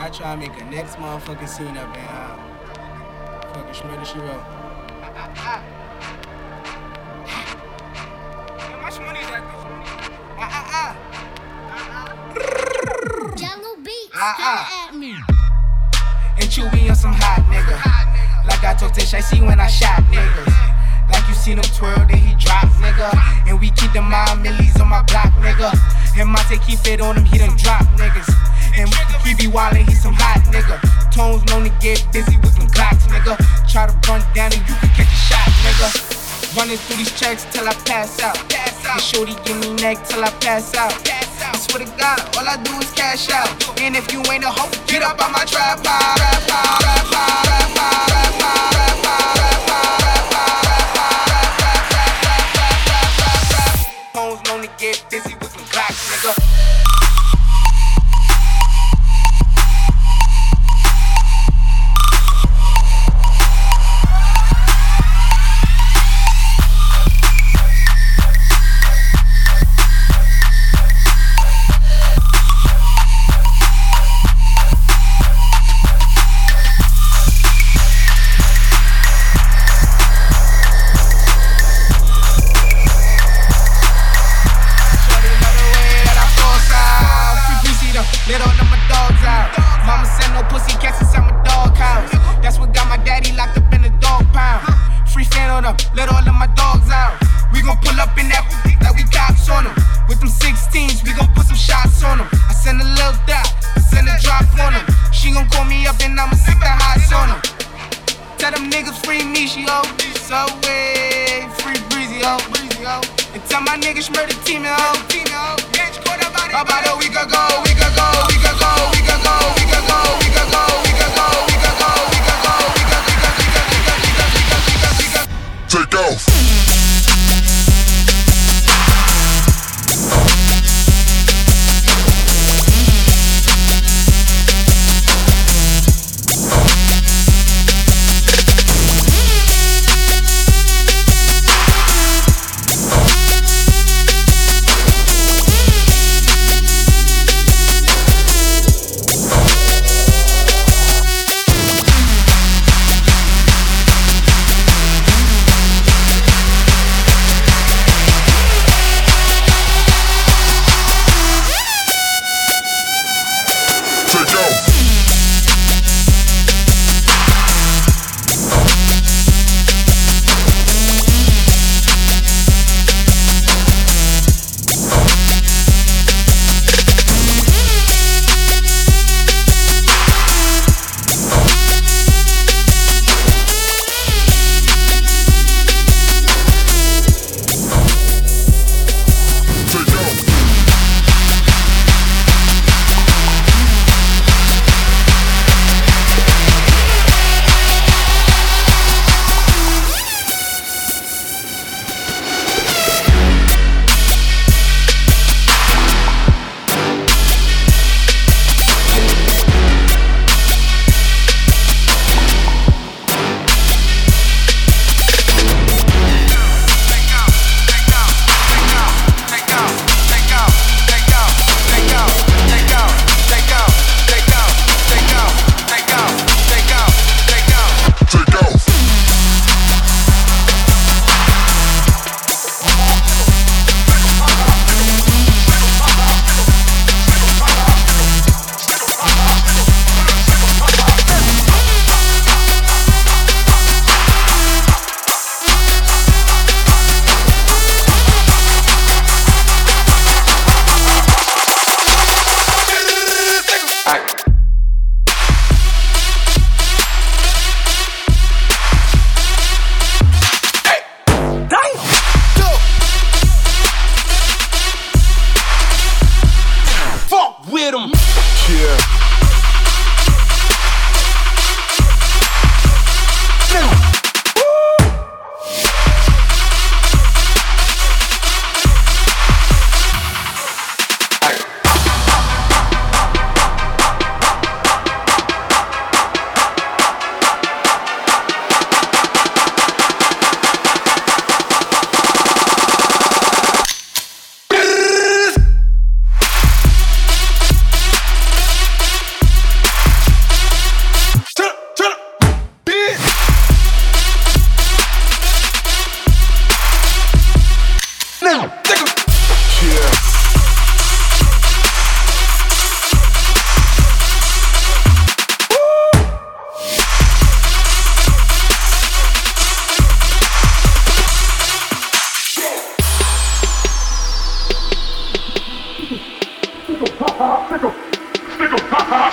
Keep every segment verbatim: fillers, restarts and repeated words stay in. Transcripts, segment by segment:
I try to make a next motherfucking scene up in uh, fucking Shmurda She Wrote. How much money is that? Ah ah ah. Jungle Beats, Ah, ah. holla at me. And you be on some hot nigga. Like I told Tish, I see when I shot niggas. Like you seen him twirl, then he drop, nigga. And we keep the mind millies on my block, nigga. And Monte keep it on him, he done drop niggas. And he be wildin', he some hot nigga. Tones known to get busy with them Glocks, nigga. Try to run down and you can catch a shot, nigga. Running through these checks till I pass out. And shorty give me neck till I pass out. I swear to God, all I do is cash out. And if you ain't a hoe, get up on my trap pod. Trap pod, trap pod, trap pod, trap pod, trap pod, trap pod, trap pod. Tones known to get busy with them Glocks, nigga. Let all of my dogs out. Mama said no pussy cats inside my dog house. That's what got my daddy locked up in the dog pound. Free fan on them, let all of my dogs out. We gon' pull up in that like we cops on them. With them sixteens, we gon' put some shots on them. I send a little dot, I send a drop on them. She gon' call me up and I'ma stick the hots on them. Tell them niggas free me, she ho. Subway, free breezy ho. And tell my niggas murder team ho. About a week ago, we could go, we could go, we could go, we could go, we could go, we could go, we could go, we could go, we could go, we could go. Take off.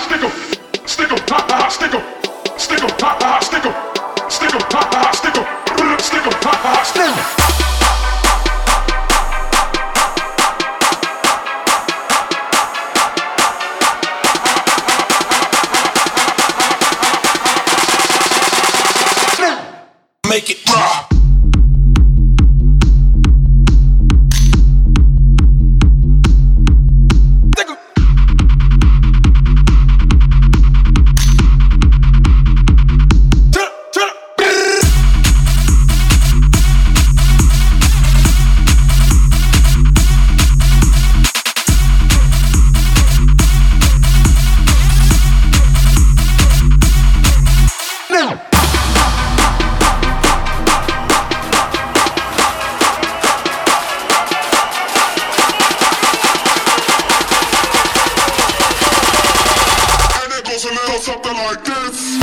stick 'em, stick 'em, ha ha, stick 'em, stick 'em, ha ha, stick 'em, stick 'em, ha ha, stick 'em, stick 'em, ha ha, stick 'em. Make it rock. A little something like this.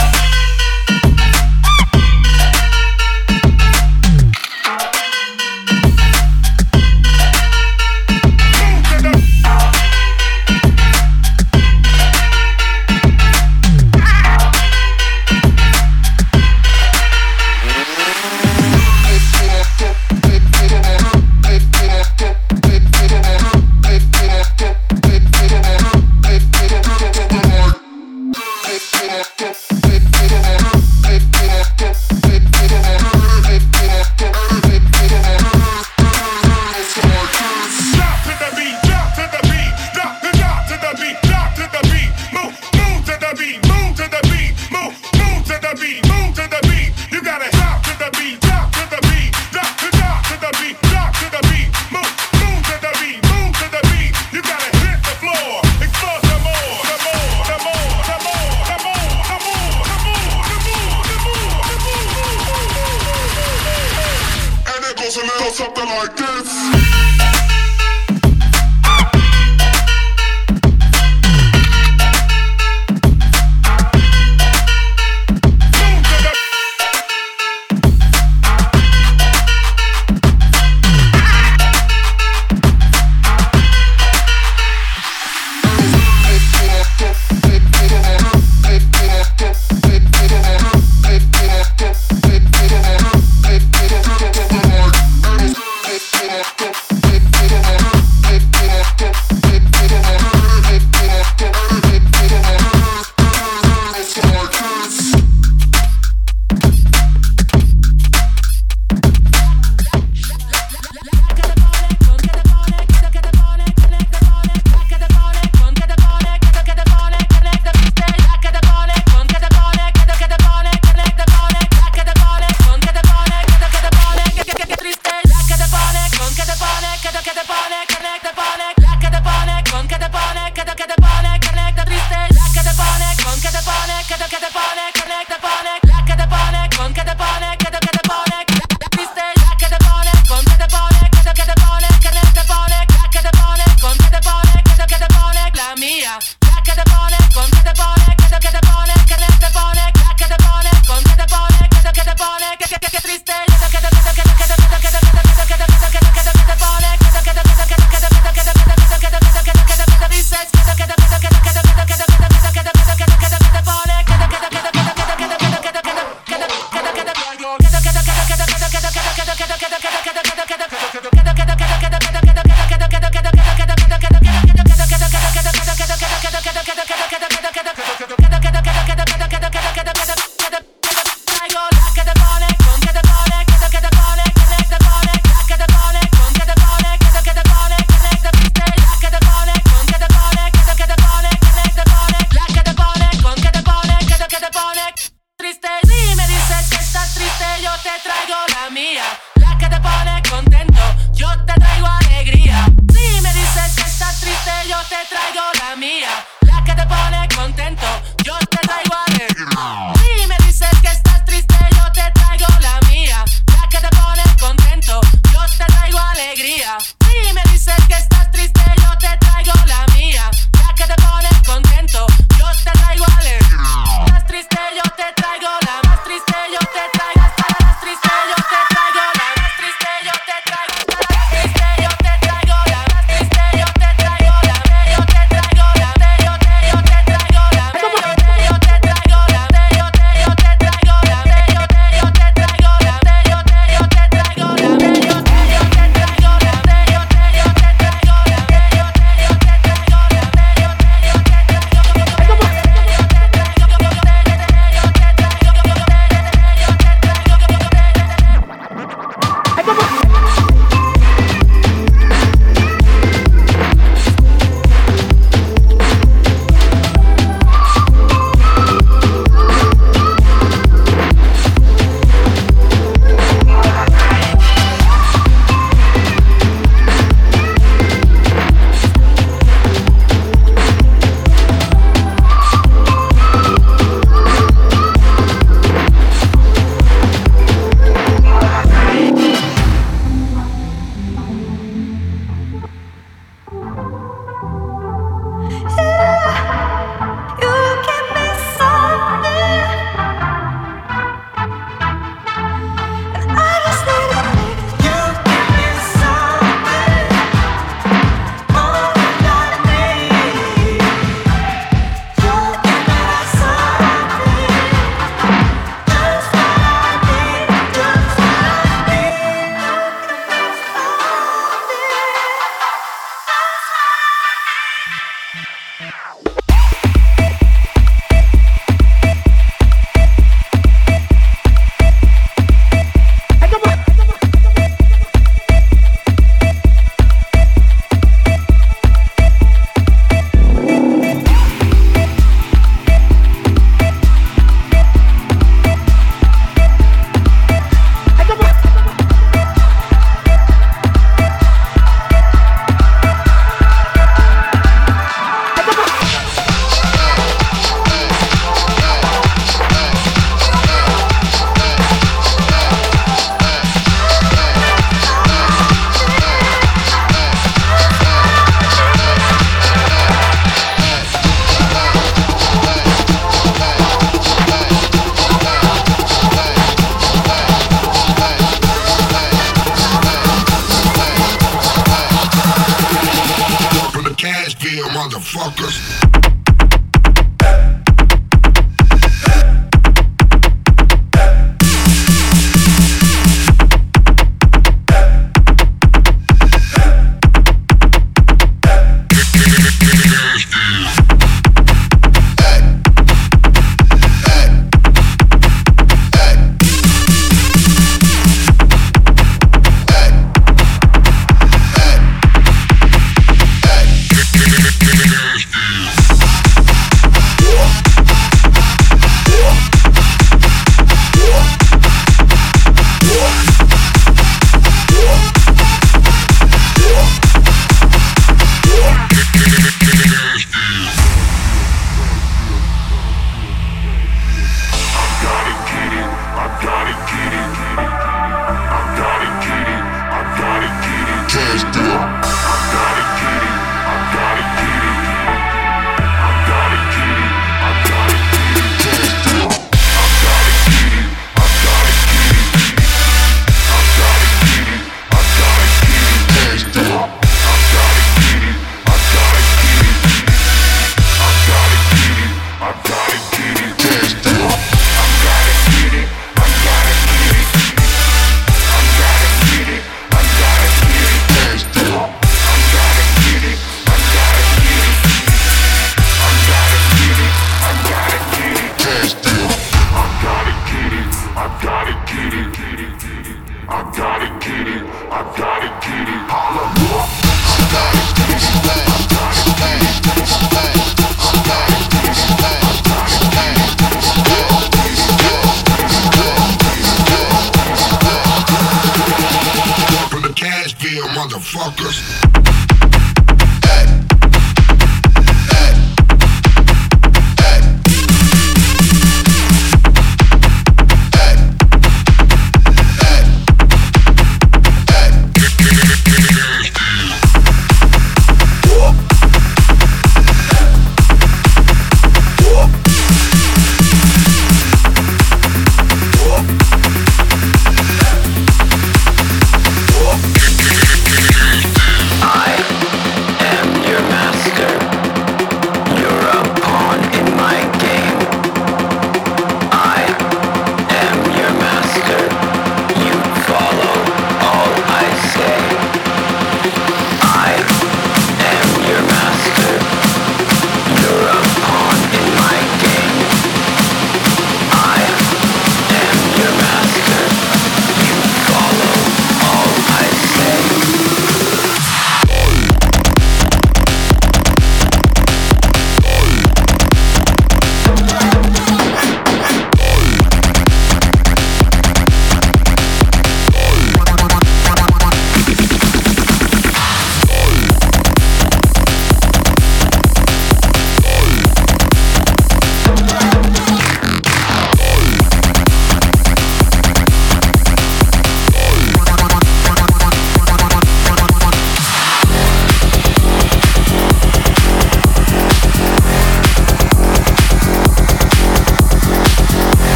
A little something like this. Go.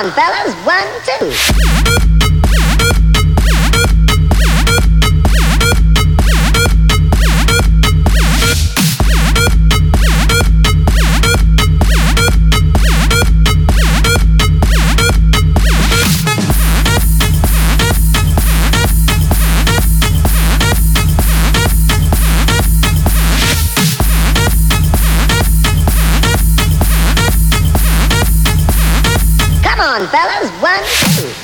on, fellas, one, two. Come on, fellas, one, two.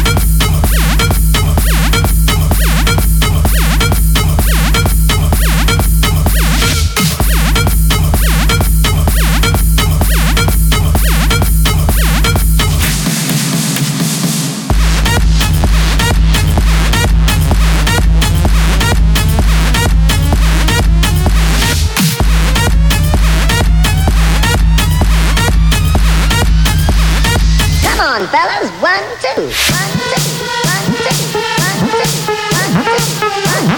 Come on, fellas, one, two. One, two, one, two, one, two, one, two, one, two, one,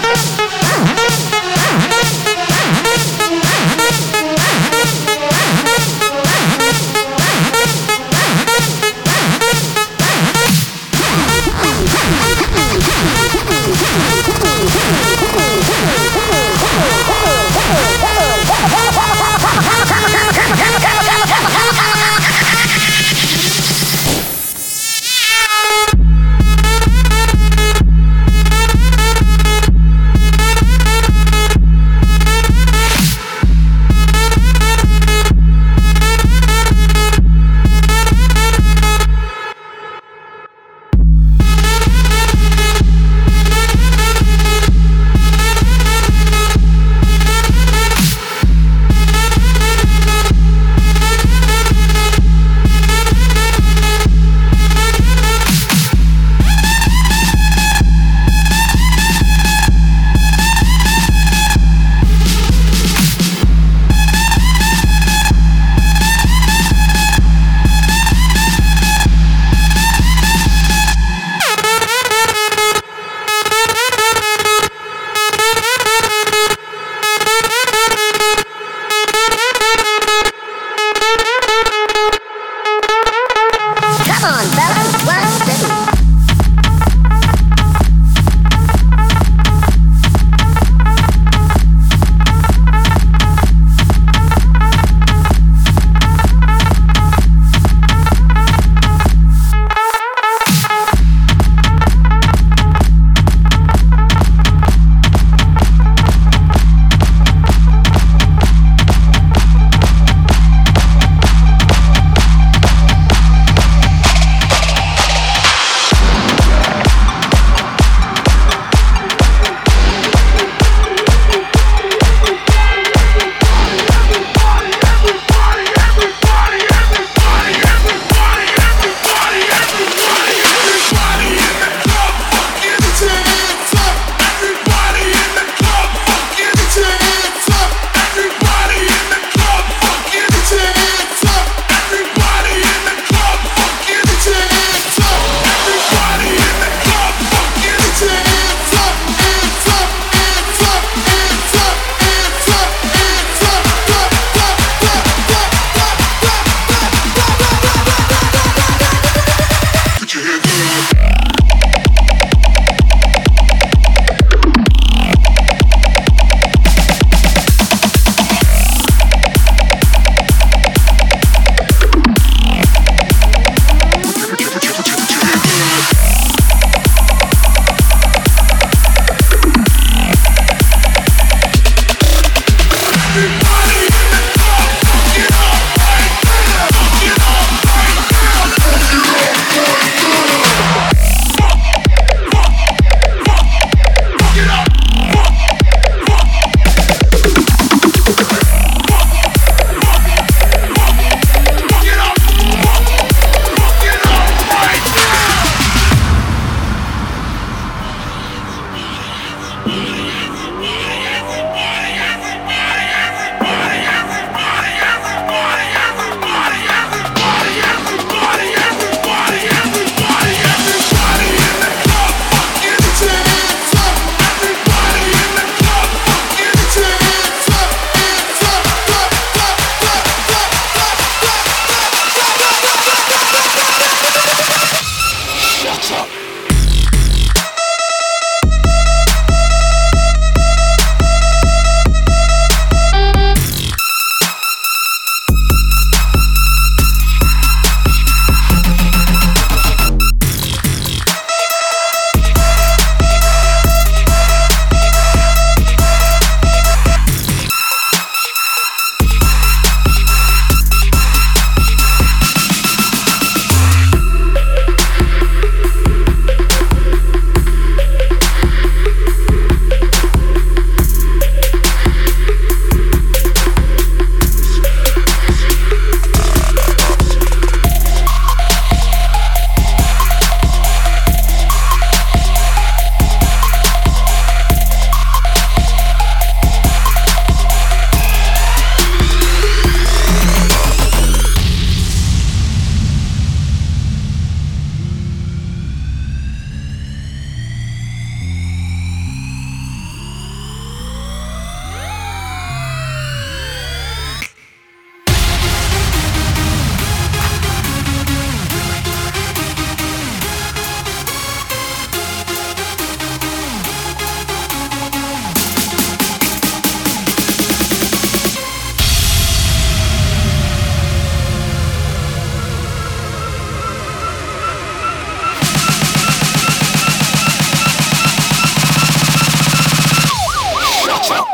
Watch out.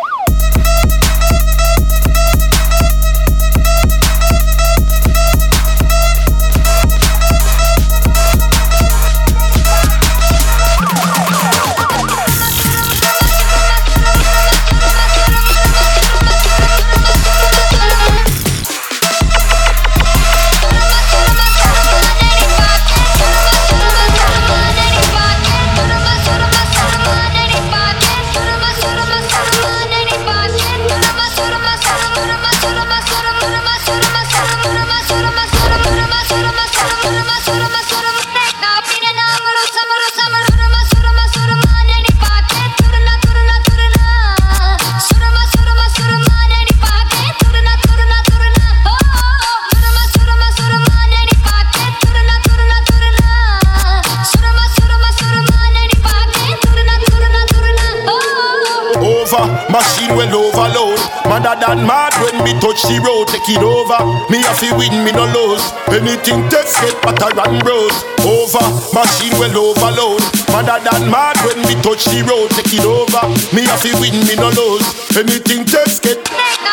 Machine well overload. Madder than mad when me touch the road. Take it over. Me have to win, me no lose. Anything test get butter and rose. Over. Machine well overload. Madder than mad when me touch the road. Take it over. Me have to win, me no lose. Anything test get.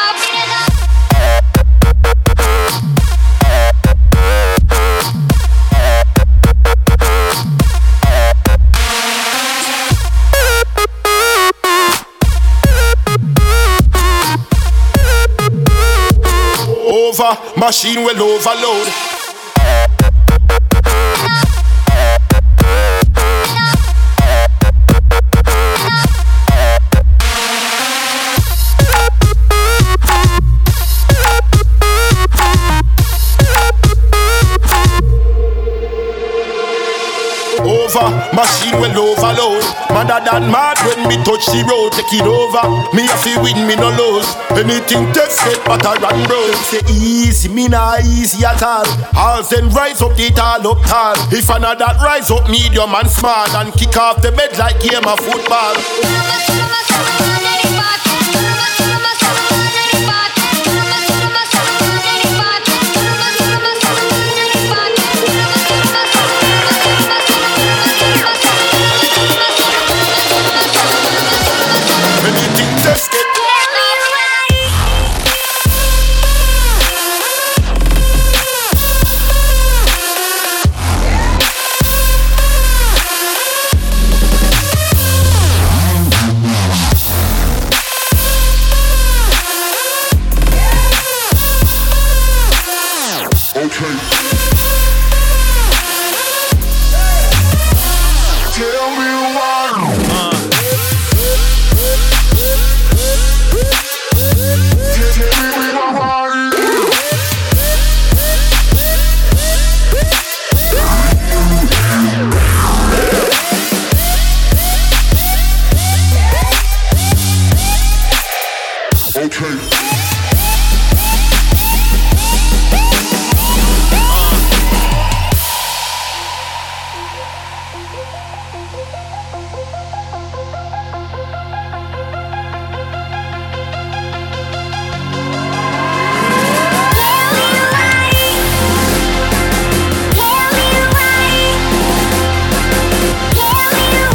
Machine will overload. Over, machine will overload. Madder than mad when me touch the road. Take it over. Me have to win, me no lose. Anything test get butter and bros. Say easy, me not easy at all. All then rise up, it all up tall. If another rise up, medium and small, and kick off the bed like game of football.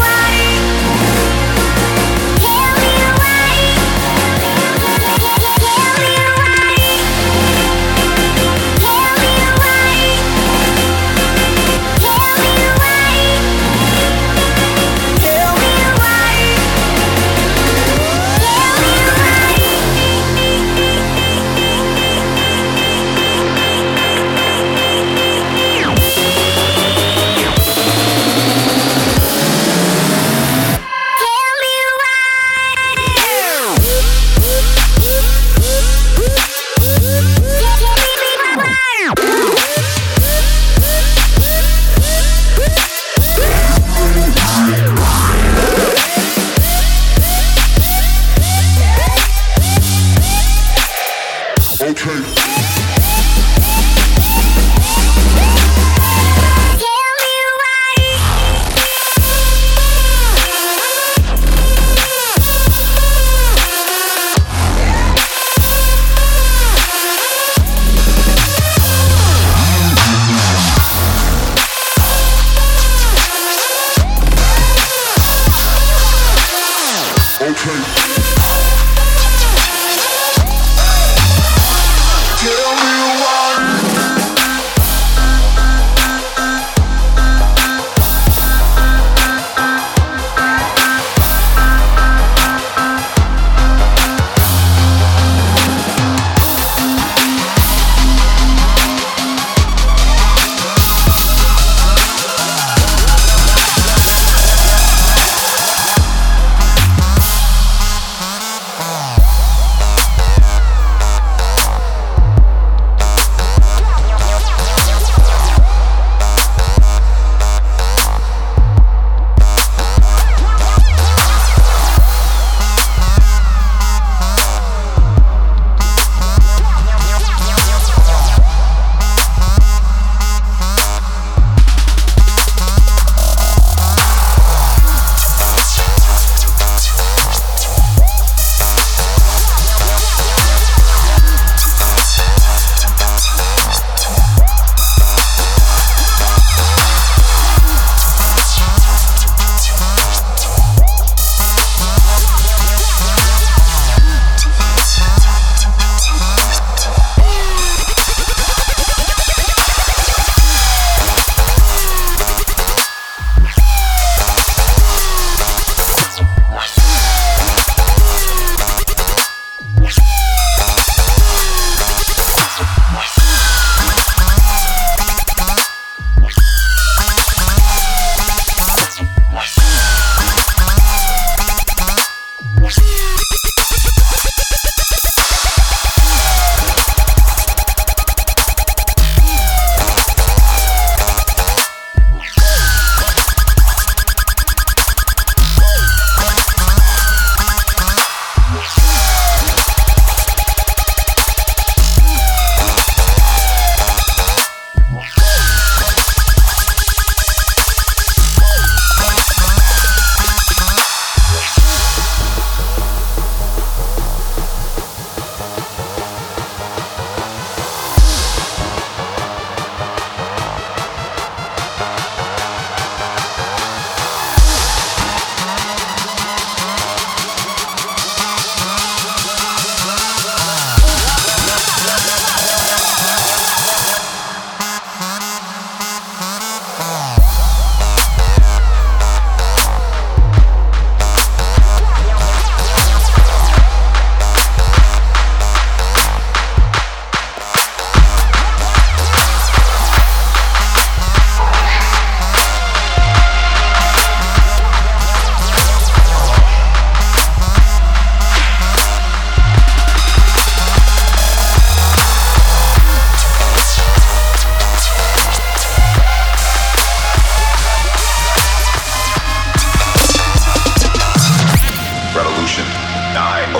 Yeah.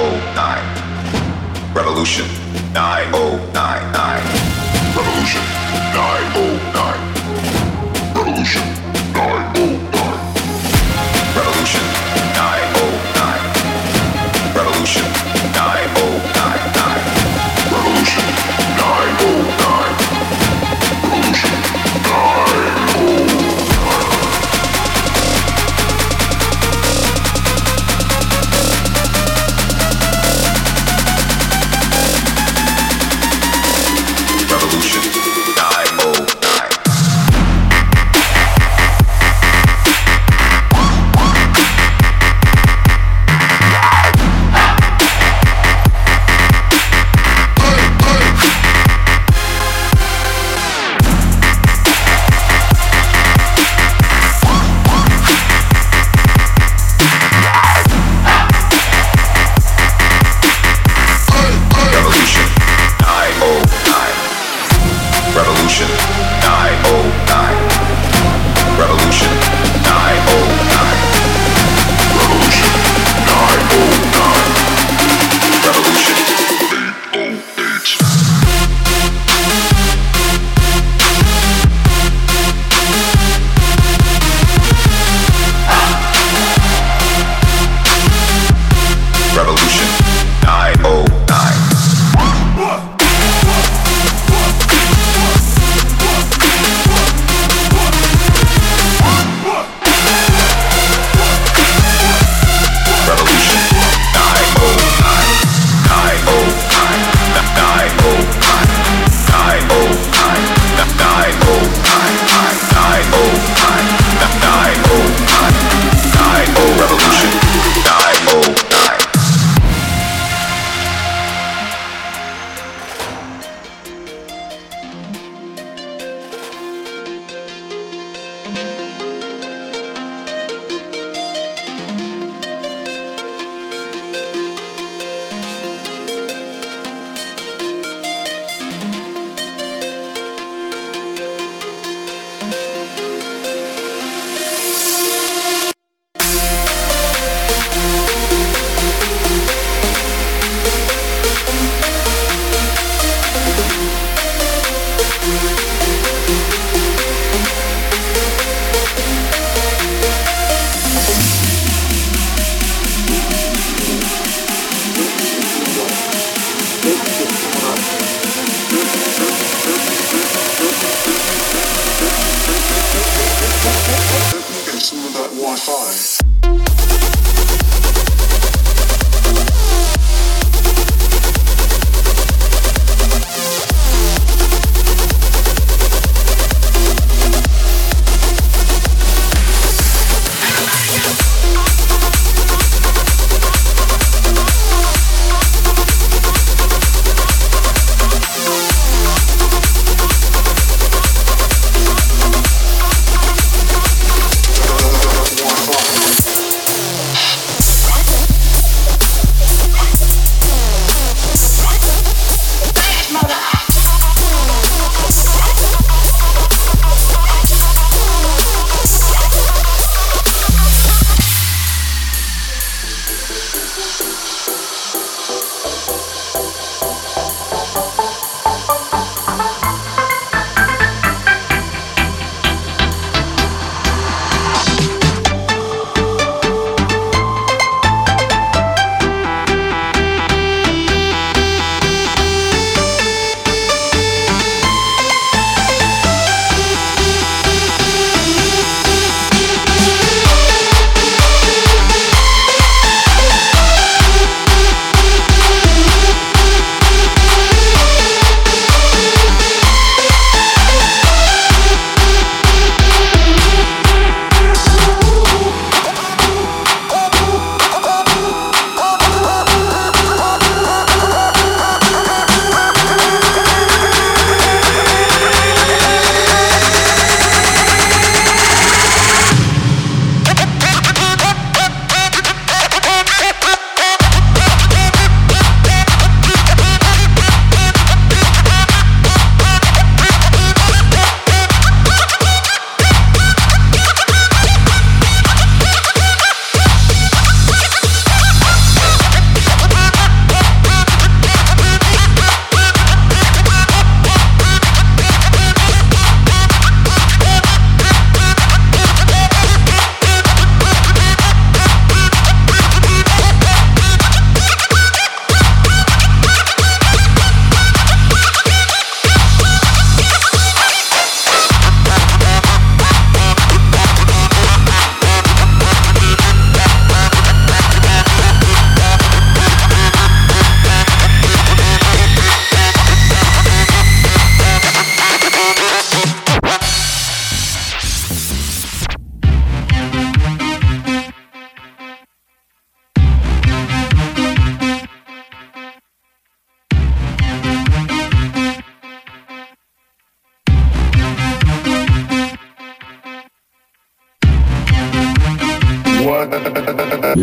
oh nine. Revolution nine oh nine nine. Revolution nine oh nine. Revolution nine oh nine. Revolution nine oh nine. Revolution nine oh nine nine. Revolution nine oh nine. Revolution nine oh nine. Revolution nine oh nine.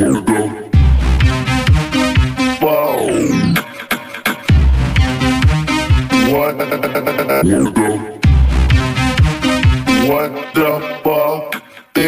wanna go. Wow. What? Wanna go. What the fuck?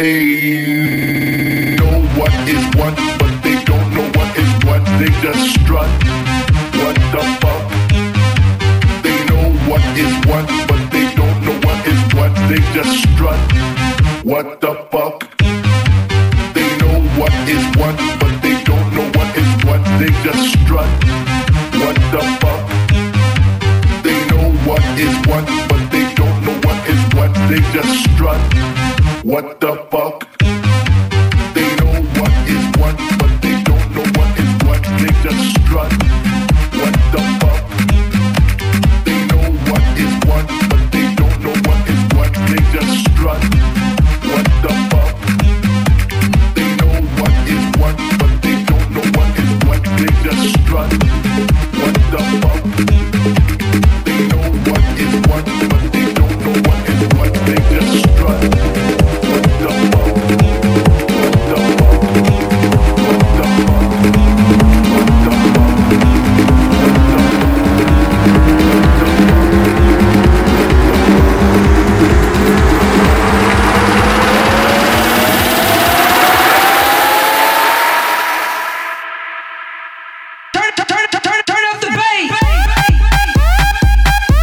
They know what is what, but they don't know what is what. They just strut. What the fuck? They know what is what, but they don't know what is what. They just strut. What the fuck? They know what is what, but they don't know what is what. They just strut. What the fuck? They know what is what, but they don't know what is what. They just strut. What the fuck? They know what is what, but they don't know what is what. They just strut. What the fuck? They know what is what, but they don't know what is what. They just strut. What the fuck? They know what is what, but they don't know what is what. They just strut. What the fuck? They know what is what, but they don't know what is what. They just strut. What the fuck? What the fuck? What the fuck? What the fuck? Turn, turn, turn, turn, turn up the bass.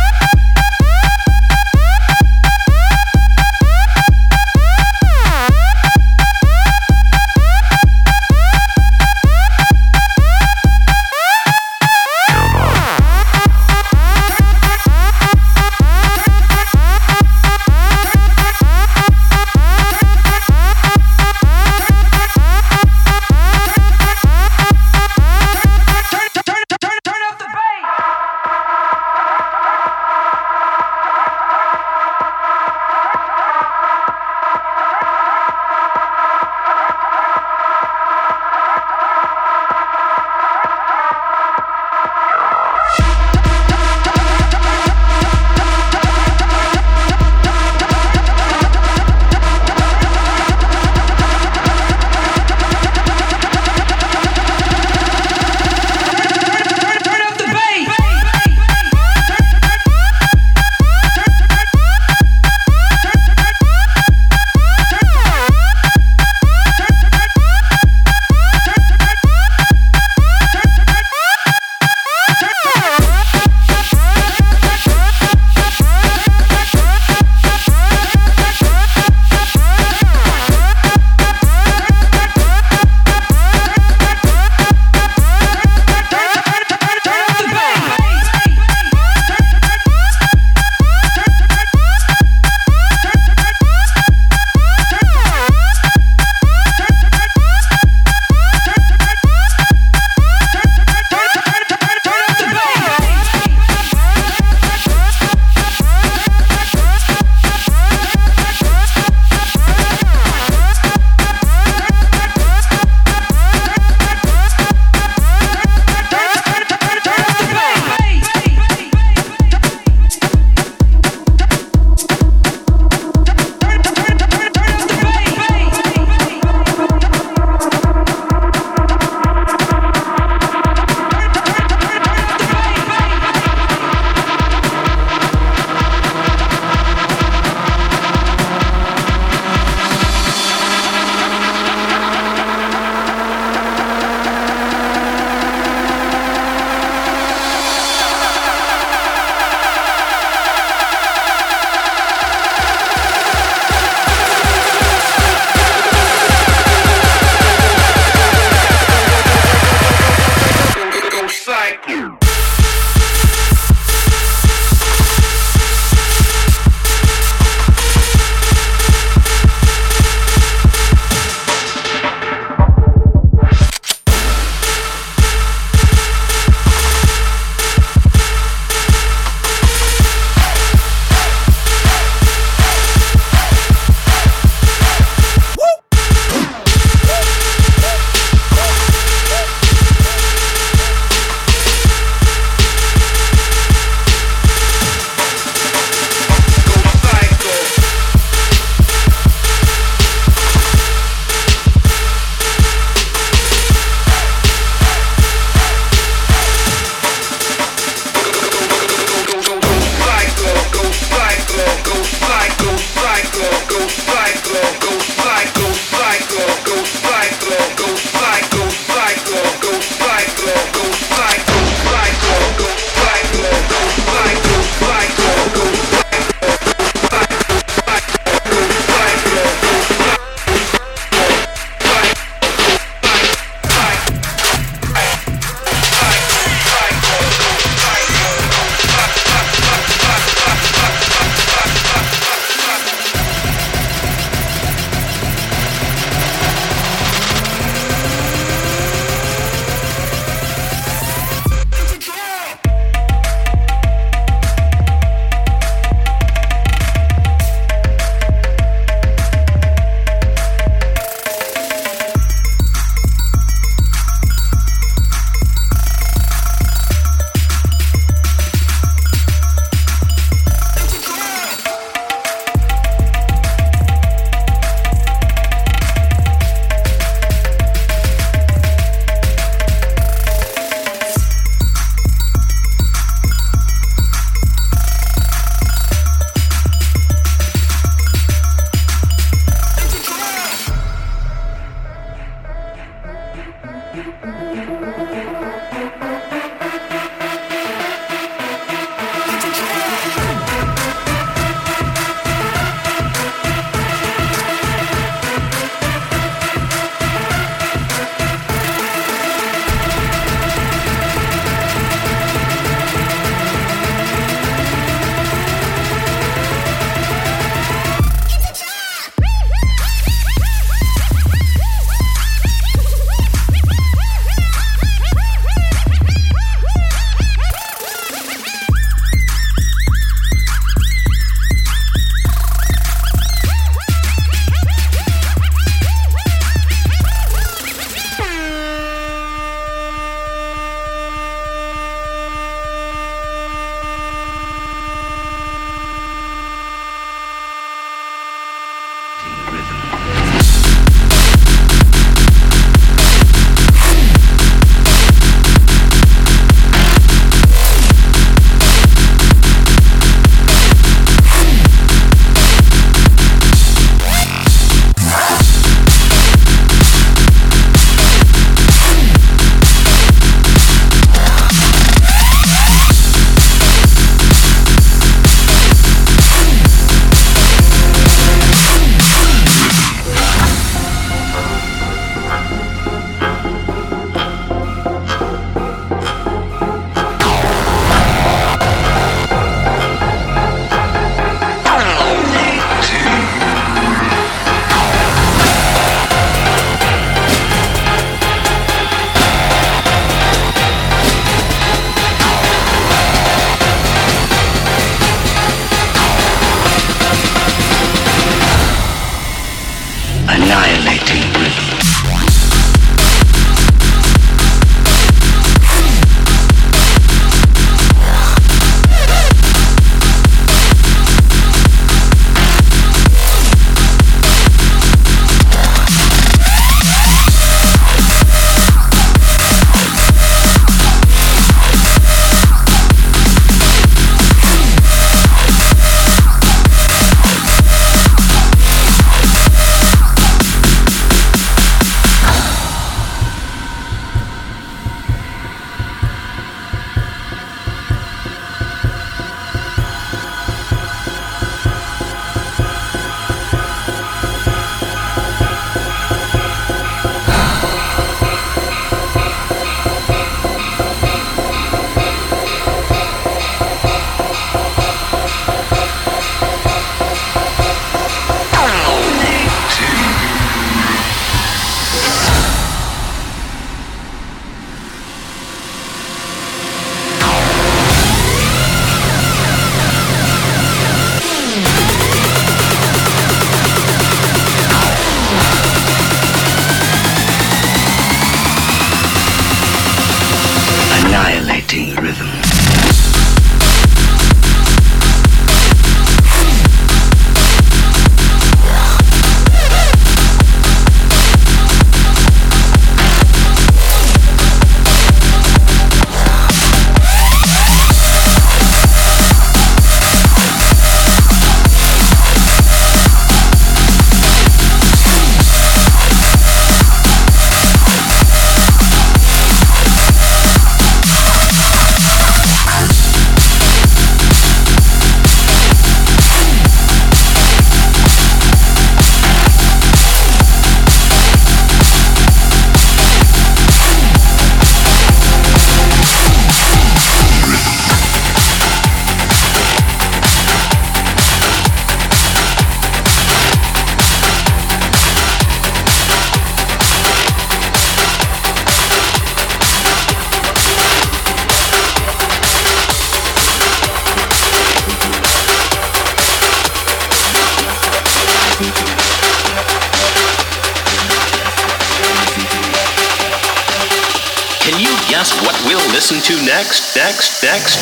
what we'll listen to next, next, next?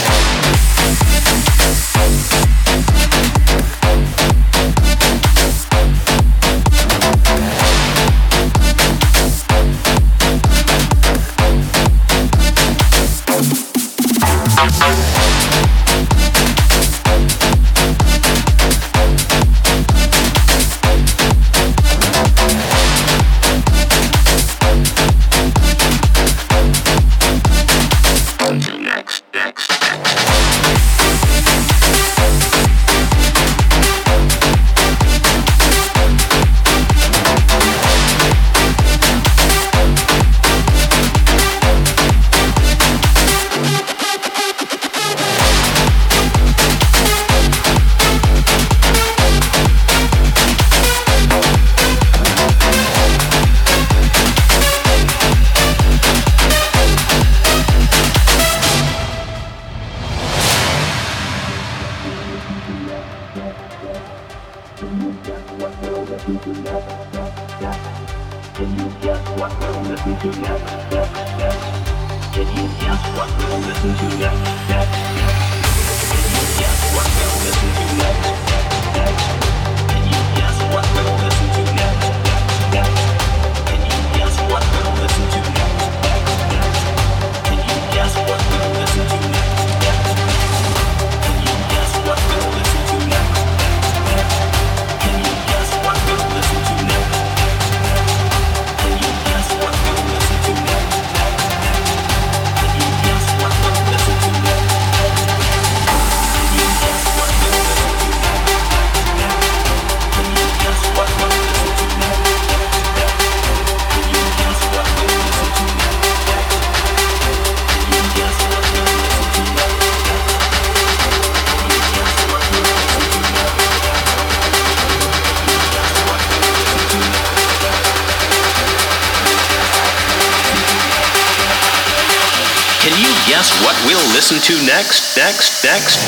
Guess what we'll listen to next, next, next?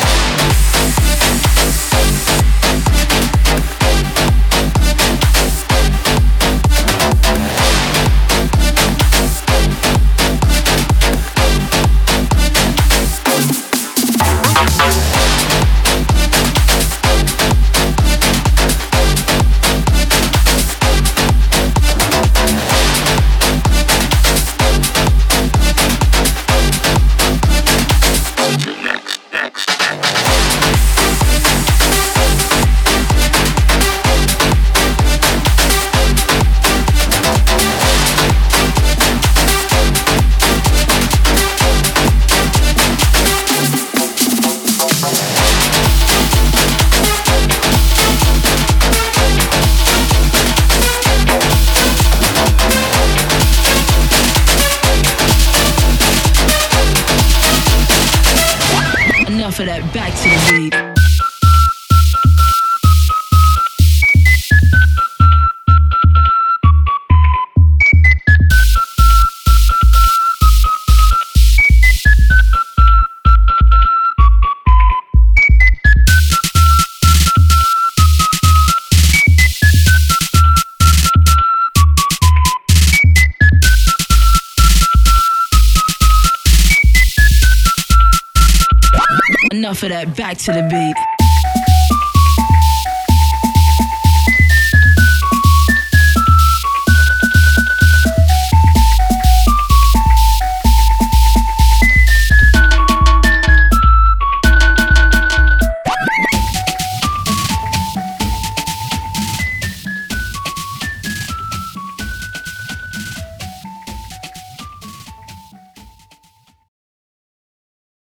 Enough of that, back to the beat. Enough of that, back to the beat.